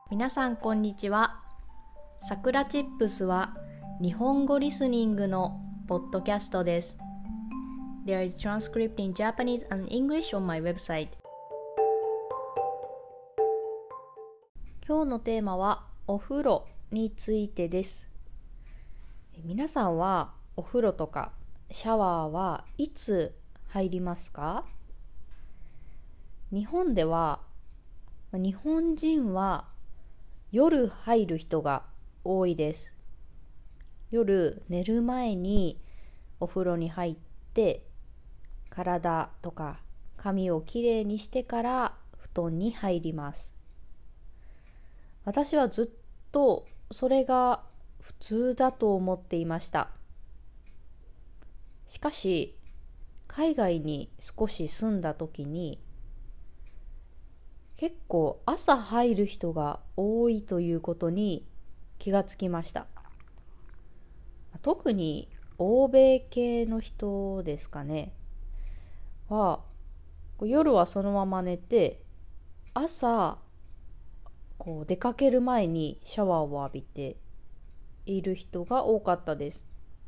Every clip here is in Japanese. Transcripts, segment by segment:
皆さんこんにちは。さくらチップスは日本語リスニングのポッドキャストです。There is transcript in Japanese and English on my website. 今日のテーマはお風呂についてです。皆さんはお風呂とかシャワーはいつ入りますか？日本では日本人は夜入る人が多いです。夜寝る前にお風呂に入って体とか髪をきれいにしてから布団に入ります。私はずっとそれが普通だと思っていました。しかし海外に少し住んだ時に結構朝入る人が多いということに気がつきました。特に欧米系の人ですかねは夜はそのまま寝て朝出かける前にシャワーを浴びている人が多かったです。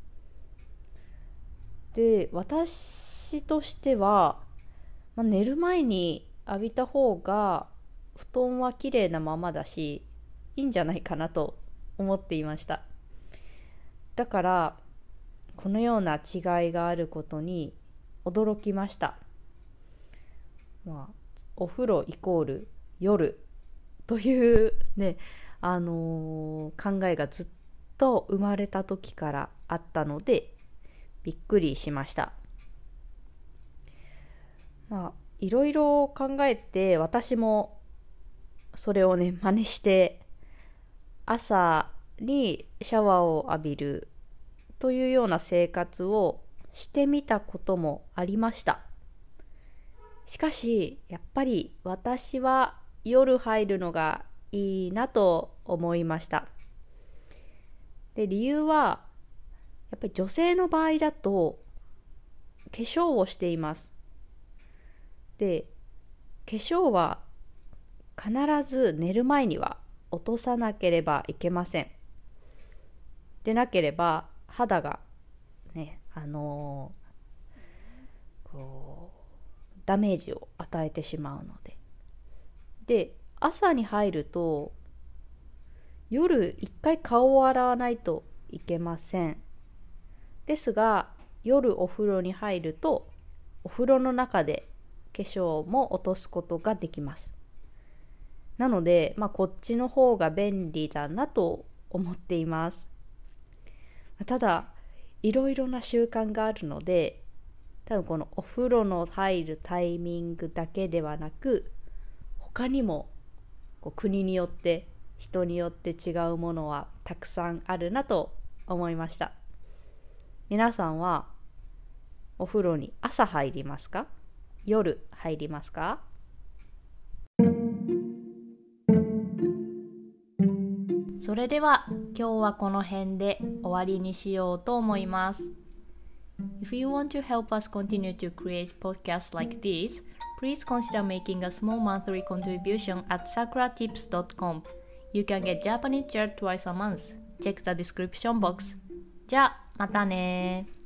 で、私としては、寝る前に浴びた方が布団はきれいなままだしいいんじゃないかなと思っていました。だからこのような違いがあることに驚きました。お風呂イコール夜というね、考えがずっと生まれた時からあったのでびっくりしました。いろいろ考えて私もそれをね真似して朝にシャワーを浴びるというような生活をしてみたこともありました。しかしやっぱり私は夜入るのがいいなと思いました。で、理由はやっぱり女性の場合だと化粧をしています。で、化粧は必ず寝る前には落とさなければいけません。でなければ肌がね、ダメージを与えてしまうので。で、朝に入ると夜一回顔を洗わないといけません。ですが夜お風呂に入るとお風呂の中で化粧も落とすことができます。なので、こっちの方が便利だなと思っています。ただいろいろな習慣があるので、多分このお風呂の入るタイミングだけではなく他にも国によって人によって違うものはたくさんあるなと思いました。皆さんはお風呂に朝入りますか？夜入りますか？それでは今日はこの辺で終わりにしようと思います。If you want to help us continue to create podcasts like this, please consider making a small monthly contribution at sakuratips.com. You can get Japanese chair twice a month. Check the description box. じゃあまたね。